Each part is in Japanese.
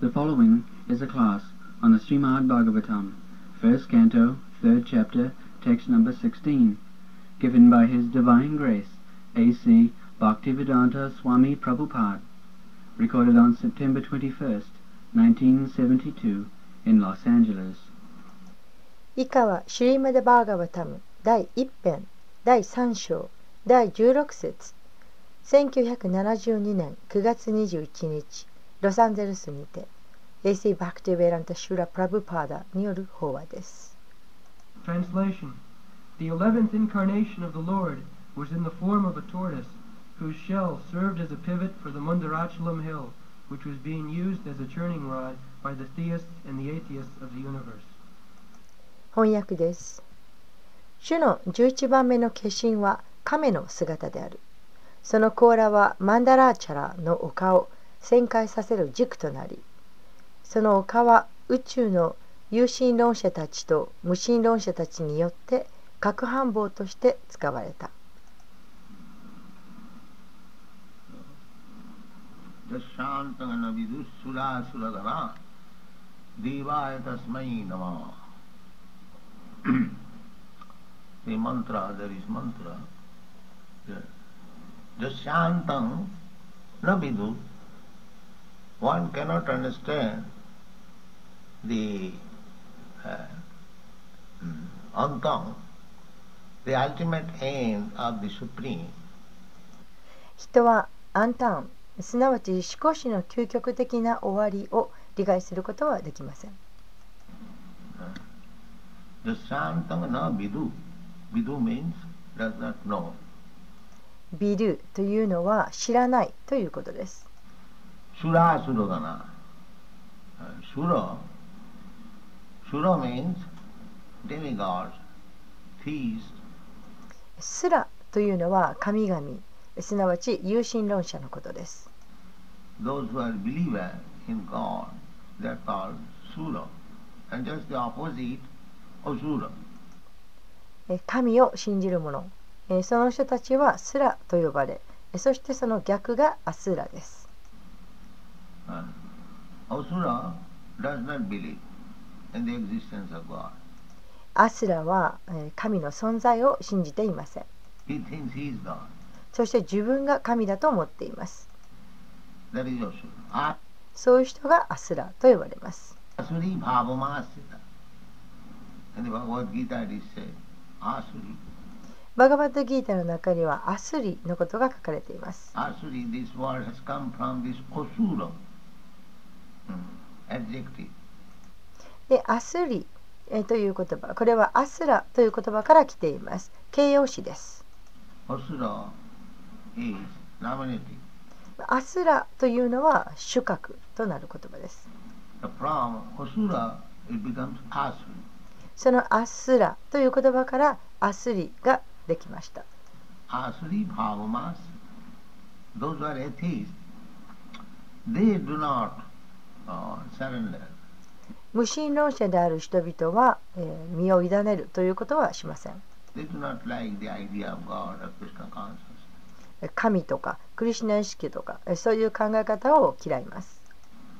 The following is a class on the Srimad Bhagavatam, first canto, third chapter, text number 16, given by His Divine Grace, A.C. Bhaktivedanta Swami Prabhupada, recorded on September 21st, 1972, in Los Angeles. 以下はシュリーマダ・バーガバタム第1編第3章第16節1972年9月21日ロサンゼルスにて A.C. Bhaktivedanta Srila Prabhupada による法話です。 Translation. The 11th incarnation of the Lord was in the form of a tortoise, whose shell served as a pivot for the Mundarachalam hill, which was being used as a churning rod by the theists and the atheists of the universe. 翻訳です。主の11番目の化身は亀の姿である。その甲羅はマンダラーチャラの丘を旋回させる軸となり、その丘は宇宙の有神論者たちと無神論者たちによって核反棒として使われた。 The mantra, there is mantra. Jasyantam na vidu. One cannot understand the antam, the ultimate end of the Supreme. 人はアンタン、すなわち思考史の究極的な終わりを理解することはできません。 Jasyantam na vidu. Vidu means does not know. ビルというのは知らないということです。 Sura Suragana. Sura means demigods, theists. スラというのは神々、すなわち有神論者のことです。 Those who are believers in God, they are called Sura. And just the opposite of Sura. 神を信じる者、その人たちはスラと呼ばれ、そしてその逆がアスラです。 Asura does not believe in the existence of God. アスラは神の存在を信じていません。 He thinks he is God. そして自分が神だと思っています。 That is Asura. そういう人がアスラと呼ばれます。 Asuri bhavamasita. In the Bhagavad Gita it is said, Asuri. バガバッドギータの中にはアスリのことが書かれています。 Asuri, this word has come from this Asura adjective. で、アスリという言葉、これはアスラという言葉から来ています。形容詞です。 Asura is nominative. アスラというのは主格となる言葉です。 From Asura it becomes Asuri. そのアスラという言葉からアスリができました。 Asuri bhavamas. Those who are atheists, they do not surrender. 無神論者である人々は、身を委ねるということはしません。 They do not like the idea of God or Krishna consciousness. 神とかクリシュナ意識とかそういう考え方を嫌います。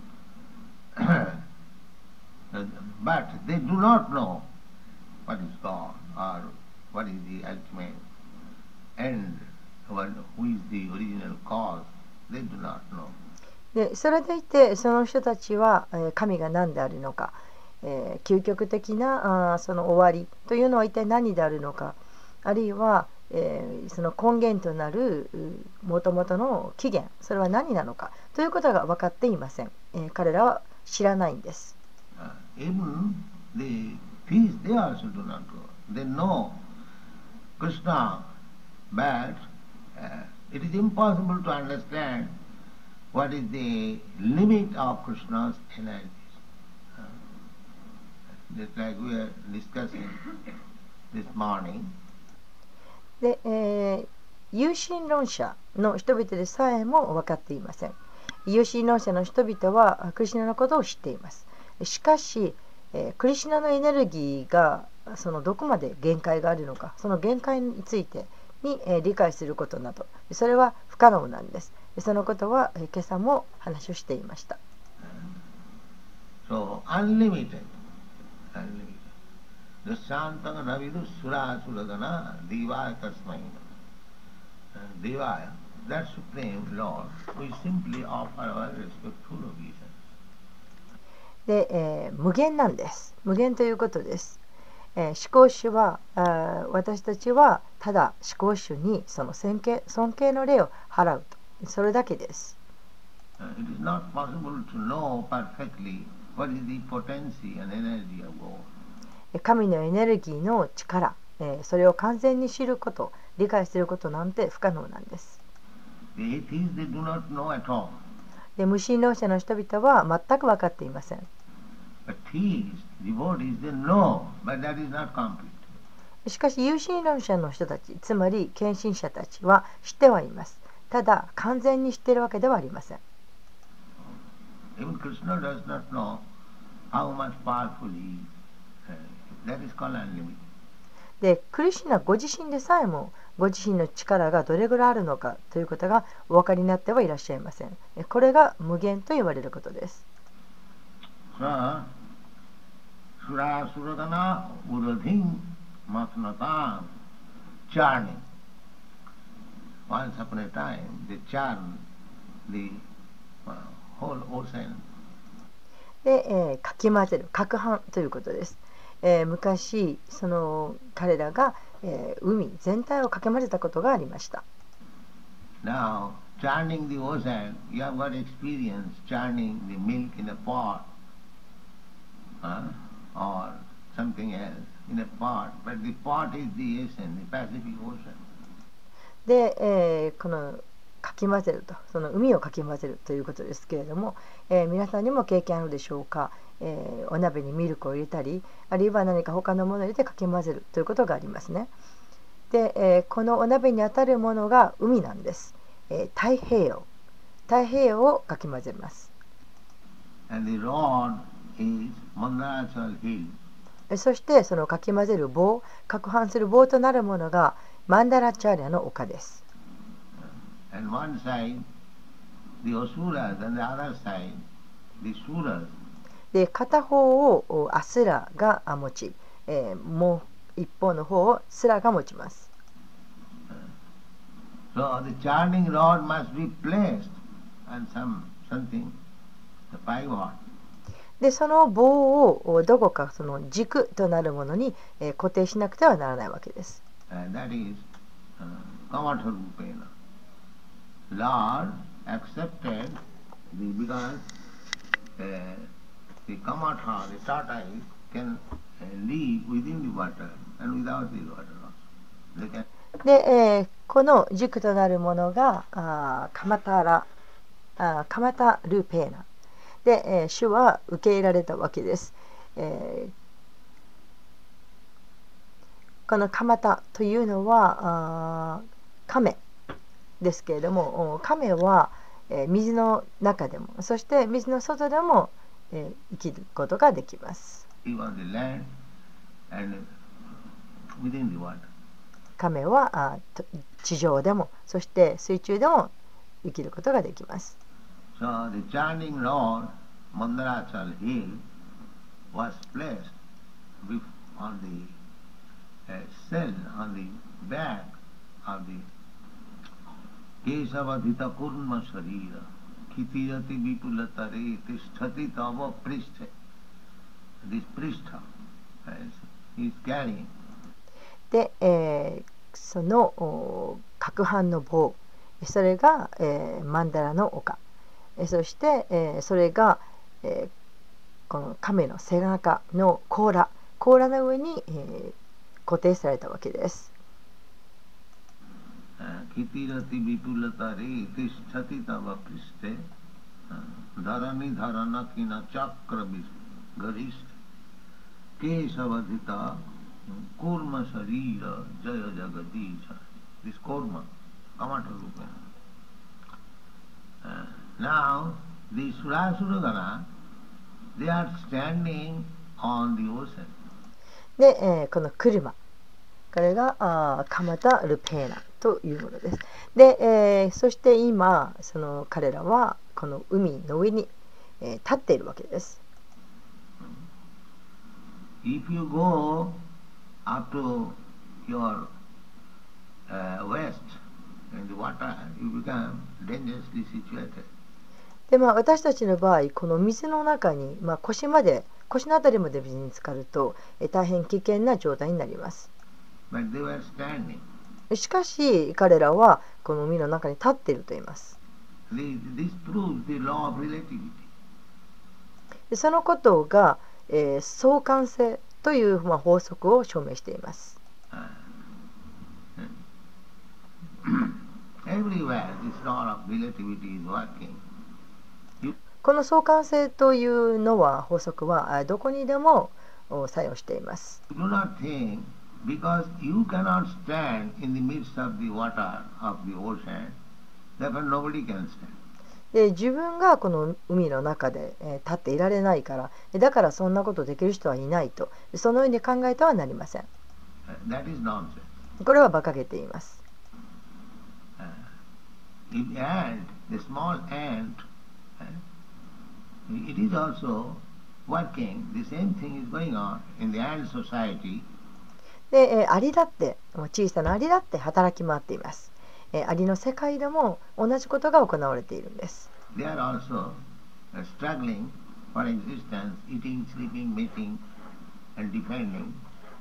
But they do not know what is God or what is the ultimate end, who is the original cause. They do not know. でそれでいてその人たちは神が何であるのか、究極的なその終わりというのは一体何であるのか、あるいは、その根源となるもともとの起源、それは何なのかということが分かっていません。彼らは知らないんです。 Even the thieves, they also do not know. They know Krishna, but it is impossible to understand what is the limit of Krishna's energies. Just like we are discussing this morning. で、有神論者の人々でさえも分かっていません。有神論者の人々はクリシュナのことを知っています。しかし、クリシュナのエネルギーがそのどこまで限界があるのか、その限界についてに理解することなど、それは不可能なんです。そのことは今朝も話をしていました。 So unlimited, unlimited. Dushantang Ravidu Sura Suragana Devaya Tasmai. Devaya, that Supreme Lord, we simply offer our respectful obeisance. で、無限なんです。無限ということです。思考主は私たちはただ思考主にその尊敬の礼を払うと、それだけです。 It is not possible to know perfectly what is the potency and energy of God. 神のエネルギーの力、それを完全に知ること、理解することなんて不可能なんです。 The atheists, they do not know at all. で、無神論者の人々は全く分かっていません。 But theists, devotees, they know, but that is not complete. しかし有神論者の人たち、つまり献身者たちは知ってはいます。ただ完全に知っているわけではありません。 Even Krishna does not know how much powerful he is. That is called unlimited. で、クリシュナご自身でさえもご自身の力がどれぐらいあるのかということがお分かりになってはいらっしゃいません。これが無限と言われることです。 So, Sura Suradana Uradhim Matnatam churning. Once upon a time, they churned the whole ocean. で、かき混ぜる、攪拌ということです。昔その彼らが、海全体をかき混ぜたことがありました。 Now, churning the ocean, you have got experience churning the milk in a pot, or something else in a pot, but the pot is the ocean, the Pacific Ocean. で、このかき混ぜると、その海をかき混ぜるということですけれども、皆さんにも経験あるでしょうか。お鍋にミルクを入れたり、あるいは何か他のものを入れてかき混ぜるということがありますね。で、このお鍋にあたるものが海なんです。太平洋をかき混ぜます。 And the rod is Mandarachal Hill. そしてそのかき混ぜる棒、攪拌する棒となるものがマンダラチャーリャの丘です。 And one side, the Asuras, and the other side, the Suras. で、片方をアスラが持ち、もう一方の方をスラが持ちます。 So the churning rod must be placed on something, the pivot. で、その棒をどこかその軸となるものに固定しなくてはならないわけです。 That is Kamatha Rupena. Lord accepted because the Kamatha, the tortoise, can live within the water and without the water also. They can. で、この軸となるものがカマタルーペーナで、主は受け入れられたわけです。このカマタというのは亀ですけれども、亀は水の中でも、そして水の外でも生きることができます。亀は地上でも、そして水中でも生きることができます。 So the churning rod, Mandarachal Hill, was placed on the cell, on the back of the Kesavadhita Kurma Sharira, Kitirati Vipulatare, Tisthati Tava Pristha. This Pristha he is carrying. で、その攪拌の棒、それが、マンダラの丘、そして、それが、この亀の背中の甲羅の上に、固定されたわけです。 Kitirati Vipulatare, Tisthati Tava Pristhe, Dharani Dharanakina Chakra Garist, Kesavadhita Kurma Sharira Jaya Jagadisha. This Kurma, Kamatha Rupena. Now, the Surasura, they are standing on the ocean. で、この車、これがカマタルペーナというものです。で、そして今その彼らはこの海の上に、立っているわけです。 if you go up to your waist in the water, you become dangerously situated. で私たちの場合この水の中に、腰のあたりまで水に浸かると、大変危険な状態になります。 But they were standing. しかし彼らはこの海の中に立っていると言います。 This proves the law of relativity. でそのことが、相関性という、法則を証明しています。 Everywhere this law of relativity is working. この相関性というのは法則はどこにでも作用しています。 Do not think because you cannot stand in the midst of the water of the ocean, therefore nobody can stand. で自分がこの海の中で立っていられないからだからそんなことできる人はいないとそのように考えてはなりません。 That is nonsense. これは馬鹿げています。 If ant, the small ant, it is also working. The same thing is going on in the ant society. でアリだって小さなアリだって働き回っています。アリの世界でも同じことが行われているんです。 They are also struggling for existence, eating, sleeping, mating, and defending.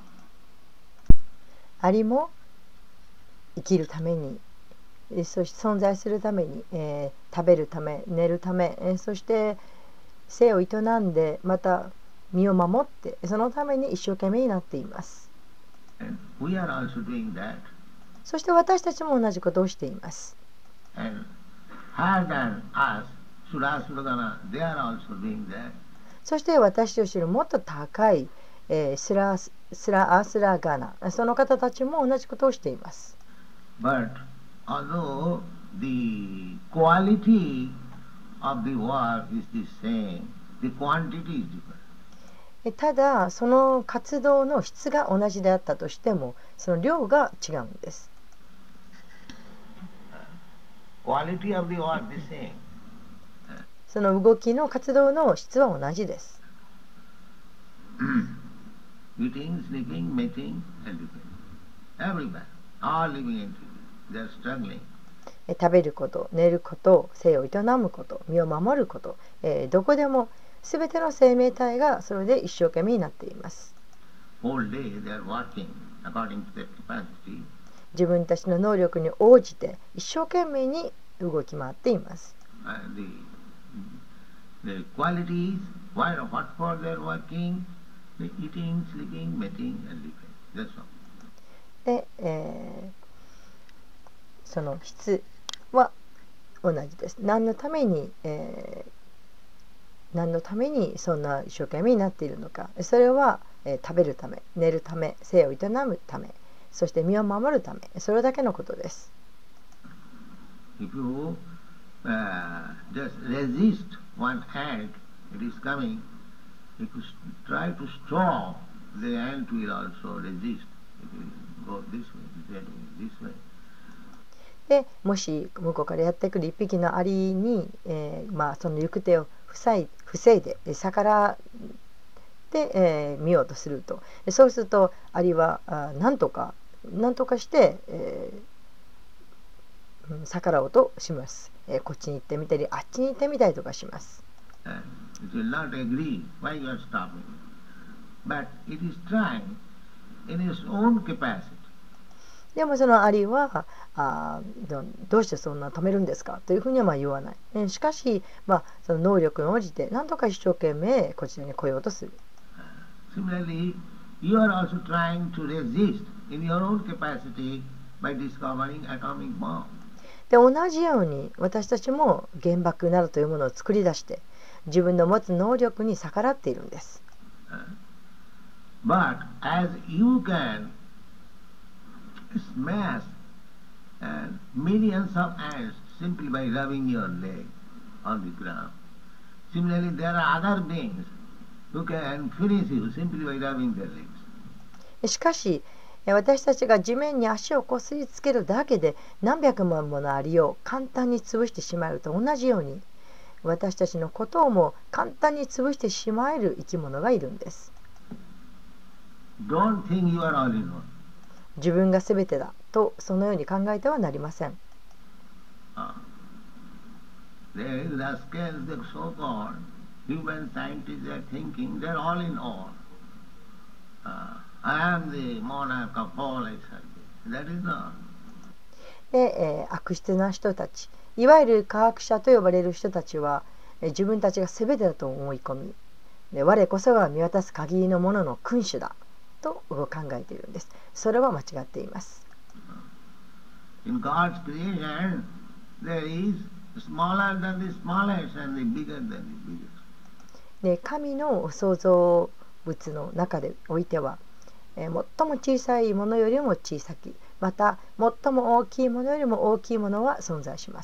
アリも生きるためにそして存在するために、食べるため寝るため、そして生を営んでまた身を守ってそのために一生懸命になっています。 And we are also doing that. そして私たちも同じことをしています。 And higher than us, Sura Suragana, they are also doing that. そして私よりもっと高い、スラアスラガナその方たちも同じことをしています。 But although the quality of the work is the same, the quantity is different. ただその活動の質が同じであったとしてもその量が違うんです。 Quality of the work is the same. その動きの活動の質は同じです。 Eating, sleeping, mating, and living. Everywhere, all living entities, they are struggling. 食べること、寝ること、生を営むこと、身を守ること、どこでもすべての生命体がそれで一生懸命になっています。 Whole day they are working according to their capacity. 自分たちの能力に応じて一生懸命に動き回っています。 The qualities, what for they are working, the eating, sleeping, mating, and living. That's all. で、その質は同じです。何のためにそんな一生懸命になっているのか。それは、食べるため、寝るため、生を営むため、そして身を守るため、それだけのことです。 If you just resist one ant, it is coming. If you try to stop, the ant will also resist. It will go this way, this way. でもし向こうからやってくる一匹のアリに、その行く手を防いで逆らって見ようとするとそうするとアリは何とかして、逆らおうとします。こっちに行ってみたりあっちに行ってみたりとかします。 It will not agree why you are stopping, but it is trying in its own capacity. でもそのアリはどうしてそんな止めるんですかというふうには言わない。しかし、その能力に応じて何とか一生懸命こちらに来ようとする。 Similarly, you are also trying to resist in your own capacity by discovering atomic bomb. で同じように私たちも原爆などというものを作り出して自分の持つ能力に逆らっているんです。 But as you can smash millions of ants simply by rubbing your leg on the ground, similarly there are other beings who can finish you simply by rubbing their legs. しかし私たちが地面に足をこすりつけるだけで何百万ものアリを簡単に潰してしまうと同じように私たちのことをも簡単に潰してしまえる生き物がいるんです。 Don't think you are all in all. 自分が全てだとそのように考えてはなりません。 The rascals, the so-called human scientists, are thinking they're all in all. I am the monarch of all, I said. That is not. で、悪質な人たち、いわゆる科学者と呼ばれる人たちは、自分たちが全てだと思い込み、で我こそが見渡す限りのものの君主だと考えているんです。それは間違っています。 In God's creation, there is smaller than the smallest and the bigger than the biggest. で神の創造物の中でおいては、最も小さいものよりも小さき、また最も大きいものよりも大きいものは存在します。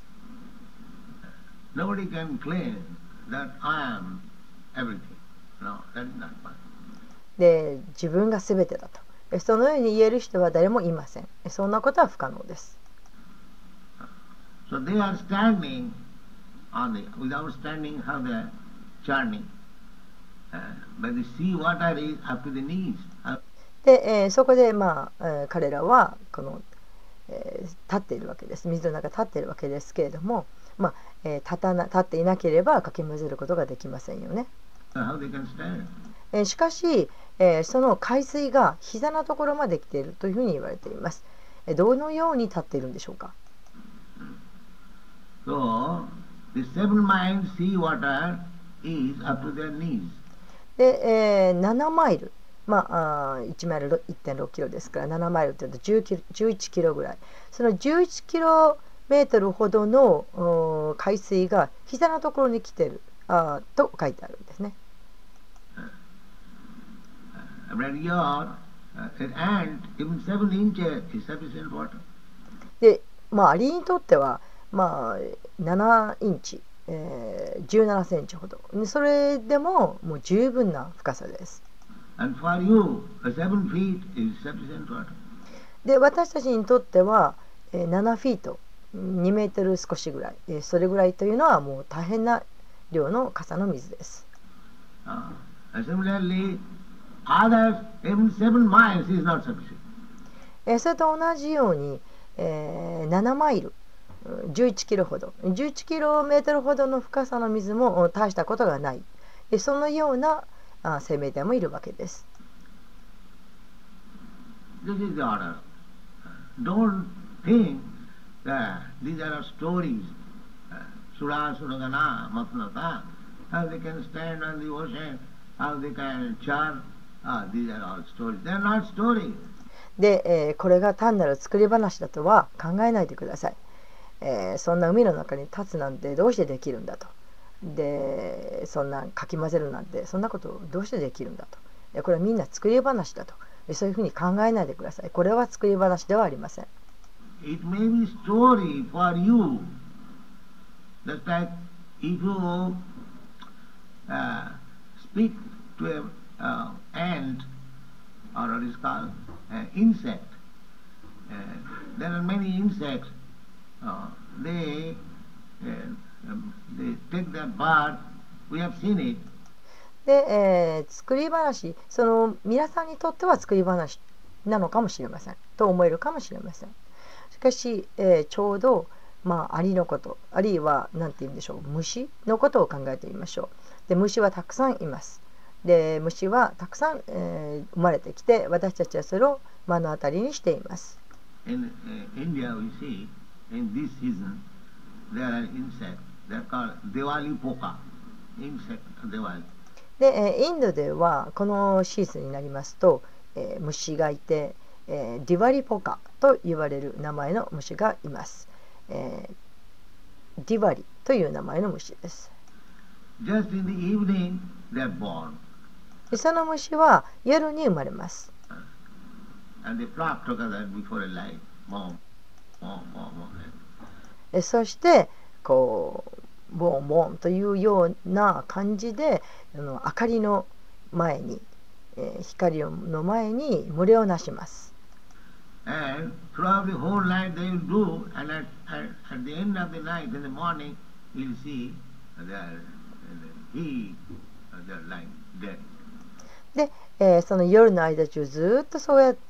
Nobody can claim that I am everything. No, that is not possible. で自分が全てだとそのように言える人は誰もいません。そんなことは不可能です。 So they are standing on the, without standing how they are churning. But the sea water is up to the knees. で、そこで、彼らはこの、立っているわけです。水の中立っているわけですけれども、立っていなければかき混ぜることができませんよね。 How they can stand? しかし、その海水が膝のところまで来ているというふうに言われています。どのように立っているんでしょうか。 So, the 7 miles sea water is up to their knees. で、7マイル、1マイル 1.6 キロですから、7マイルというと11キロぐらい。その11キロメートルほどの海水が膝のところに来ていると書いてあるんですね。で、アリにとっては、7インチ、17センチほど。それでももう十分な深さです。で、私たちにとっては7フィート、2メートル少しぐらい、それぐらいというのはもう大変な量の傘の水です。それと同じように、7マイル、11キロほど、11キロメートルほどの深さの水も大したことがない、そのような生命体もいるわけです。 This is the order. Don't think that these are stories. Sura, Suragana, Matnata, how they can stand on the ocean, how they can chant. These are all stories. They are not stories. で、これが単なる作り話だとは考えないでください。そんな海の中に立つなんてどうしてできるんだと。で、そんなかき混ぜるなんてそんなことどうしてできるんだと。で、これはみんな作り話だと。そういうふうに考えないでください。これは作り話ではありません。 It may be story for you. Just like if you speak to an ant or what is called insect. There are many insects. They take that bird. We have seen it. で、作り話、その皆さんにとっては作り話なのかもしれませんと思えるかもしれません。しかし、ちょうど、アリのこと、あるいは何て言うんでしょう、虫のことを考えてみましょう。で、虫はたくさんいます。で、虫はたくさん、生まれてきて、私たちはそれを目の当たりにしています。 In India, we see in this season there are insects. They are called Diwali poka. Insect Diwali. で、インドではこのシーズンになりますと、虫がいて、ディワリポカと言われる名前の虫がいます。ディワリという名前の虫です。 Just in the evening, they are born. その虫は夜に生まれます。 And they flock together before a light. Boom, boom, boom, boom. そしてこうボンボンというような感じで明かりの前に、光の前に群れをなします。 And throughout the whole night they will do, and at the end of the night, in the morning, you'll see they're lying dead. で、その夜の間中ずっとそうやって、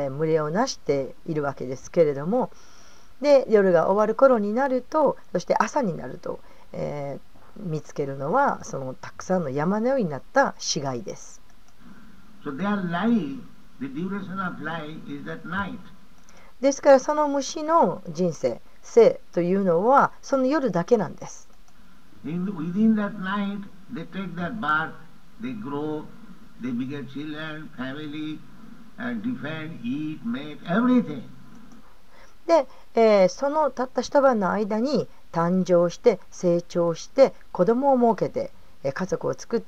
群れをなしているわけですけれども、で夜が終わる頃になると、そして朝になると、見つけるのはそのたくさんの山のようになった死骸です。 So their life, the duration of life is at night. ですからその虫の人生、生というのはその夜だけなんです。 Within that night, they take that birth, they grow, they beget children, family, defend, eat, mate, everything. で、そのたった一晩の間に誕生して成長して子供を設けて、家族を作って、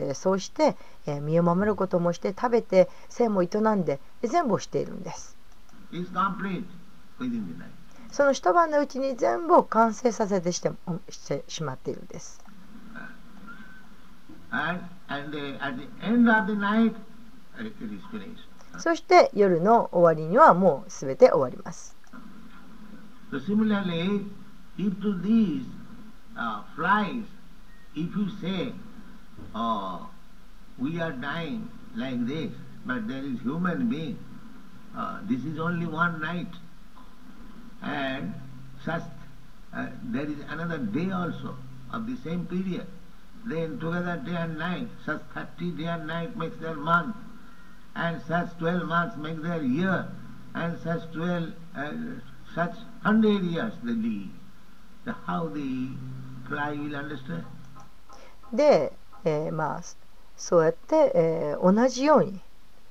そうして、身を守ることもして食べて生も営んで全部をしているんです。 It's complete within the night. その一晩のうちに全部を完成させてしてしまっているんです。 And at the end of the night, it is finished. そして夜の終わりにはもうすべて終わります。 So similarly, if to these flies, if you say, oh, we are dying like this, but there is human being, this is only one night, and such, there is another day also of the same period. Then together day and night, such 30 day and night makes their month, and such 12 months make their year, and such 100 years they live. So how the fly will understand? で、そうやって、同じように、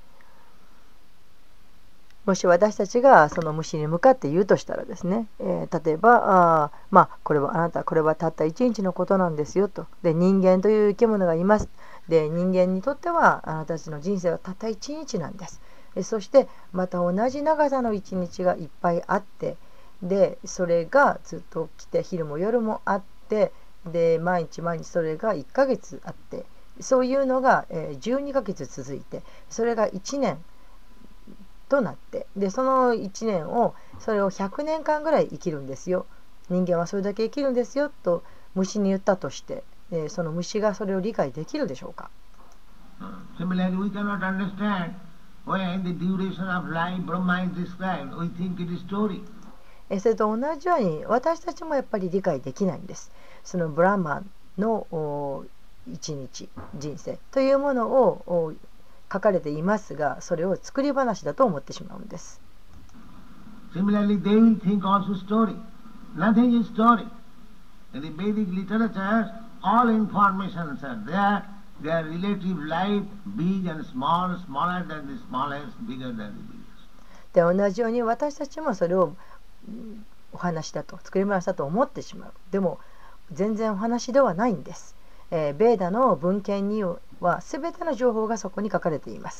もし私たちがその虫に向かって言うとしたらですね、例えばこれはあなたこれはたった一日のことなんですよと。で人間という生き物がいます。で人間にとってはあなたたちの人生はたった一日なんです。そしてまた同じ長さの一日がいっぱいあって、でそれがずっと来て昼も夜もあって、で毎日毎日それが1ヶ月あって、そういうのが12ヶ月続いて、それが1年となって、でその1年をそれを100年間ぐらい生きるんですよ。人間はそれだけ生きるんですよと虫に言ったとして、その虫がそれを理解できるでしょうか。 Similarly, we cannot understand when the duration of life Brahma is described. We think it is story. それと同じように私たちもやっぱり理解できないんです。そのブラマンの一日人生というものを書かれていますが、それを作り話だと思ってしまうんです。 Similarly, they will think also story. Nothing is story. In the Vedic literature, all informations are there. Their relative life, big and small, smaller than the smallest, bigger than the biggest. で同じように私たちもそれをお話だと作り話だと思ってしまう。でも全然お話ではないんです。ベーダの文献には全ての情報がそこに書かれています。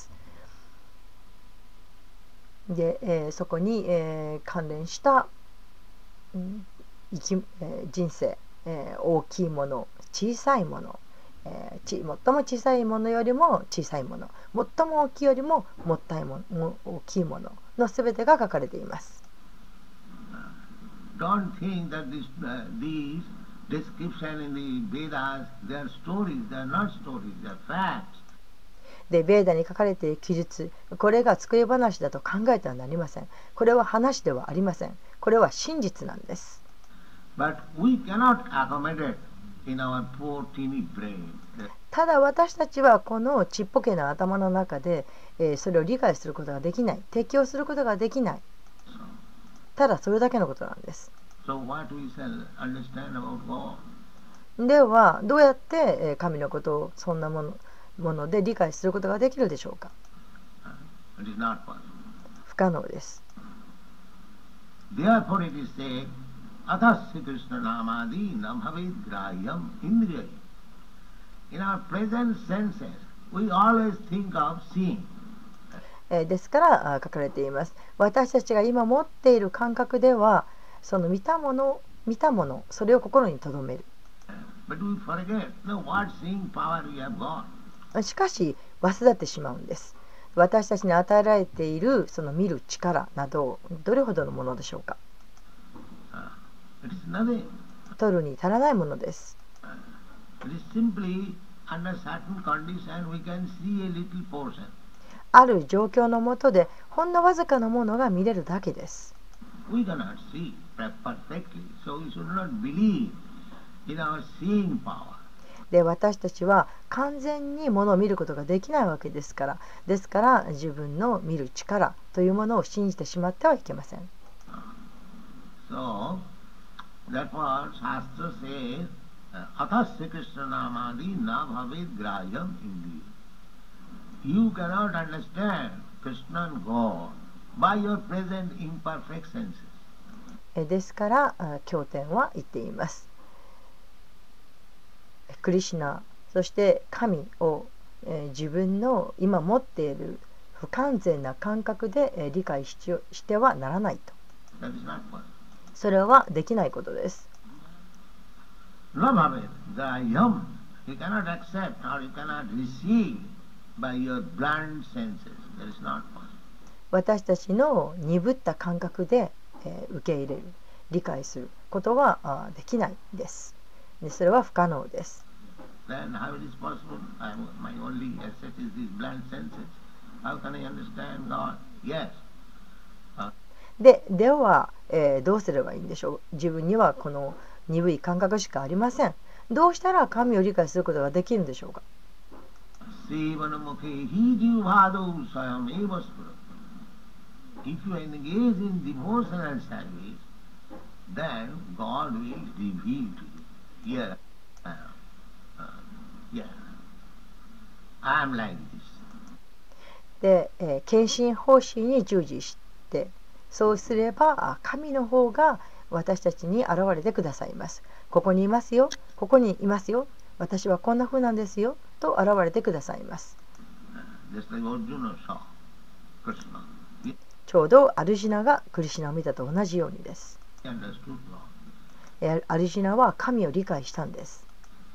で、そこに、関連した、人生、大きいもの、小さいもの、最も小さいものよりも小さいもの、最も大きいよりも大きいものの全てが書かれています。 Don't think that these description in the Vedas, they are stories, they are not stories, they are facts. で、ベーダに書かれている記述、これが作り話だと考えてはなりません。これは話ではありません。これは真実なんです。 But we cannot accommodate in our poor teeny brain. ただ私たちはこのちっぽけな頭の中で、それを理解することができない、適応することができない。ただそれだけのことなんです。 So what we shall understand about God? ではどうやって神のことをそんなもので理解することができるでしょうか。 It is not possible. 不可能です。 Therefore it is said, Atasya Krishna Namadi Nabhavid Grahyam Indriyai. In our present senses, we always think of seeing. ですから書かれています。私たちが今持っている感覚では、その見たもの、それを心に留める。しかし忘れてしまうんです。私たちに与えられているその見る力などどれほどのものでしょうか。取るに足らないものです。 under certain condition we can see a little portion. ある状況の下でほんのわずかなものが見れるだけです。 We cannot see perfectly, so we should not believe in our seeing power. で、私たちは完全にものを見ることができないわけですから、ですから自分の見る力というものを信じてしまってはいけません。 So, therefore, Shastra says, Atasya Krishna Namadi na bhavet graham indi. You cannot understand Krishna and God by your present imperfect senses. ですから経典は言っています。クリシュナ、そして神を自分の今持っている不完全な感覚で理解してはならないと。それはできないことです。私たちの鈍った感覚で受け入れる、理解することはできないです。それは不可能です。では、どうすればいいんでしょう。自分にはこの鈍い感覚しかありません。どうしたら神を理解することができるんでしょうか。 If you engage in devotional service, then God will reveal to you. Yeah, yeah. I am like this. で、献身奉仕に従事して、そうすれば神の方が私たちに現れてくださいます。ここにいますよ、ここにいますよ、私はこんな風なんですよと現れてくださいます。ちょうどアルジュナがクリシュナを見たと同じようにです。アルジュナは神を理解したんです。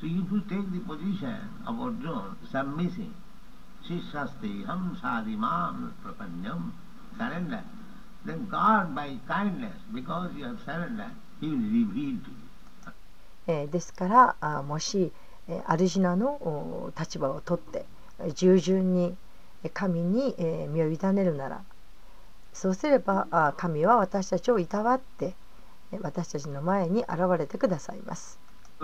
ですからもしアルジュナの立場をとって従順に神に身を委ねるなら、そうすれば神は私たちをいたわって私たちの前に現れてくださいます。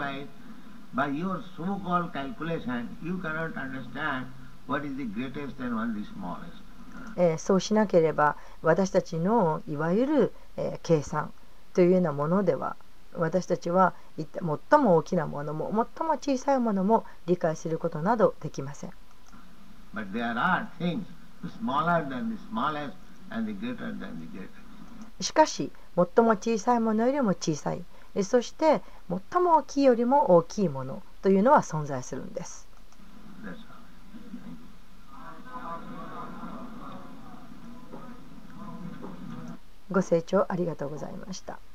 そうしなければ私たちのいわゆる計算というようなものでは、私たちは最も大きなものも最も小さいものも理解することなどできません。しかし最も小さいものよりも小さい、そして最も大きいよりも大きいものというのは存在するんです。ご清聴ありがとうございました。